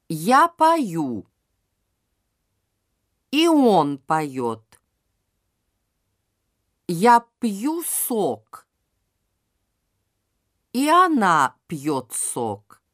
Я пою, и он поет. Я пью сок, и она пьет сок.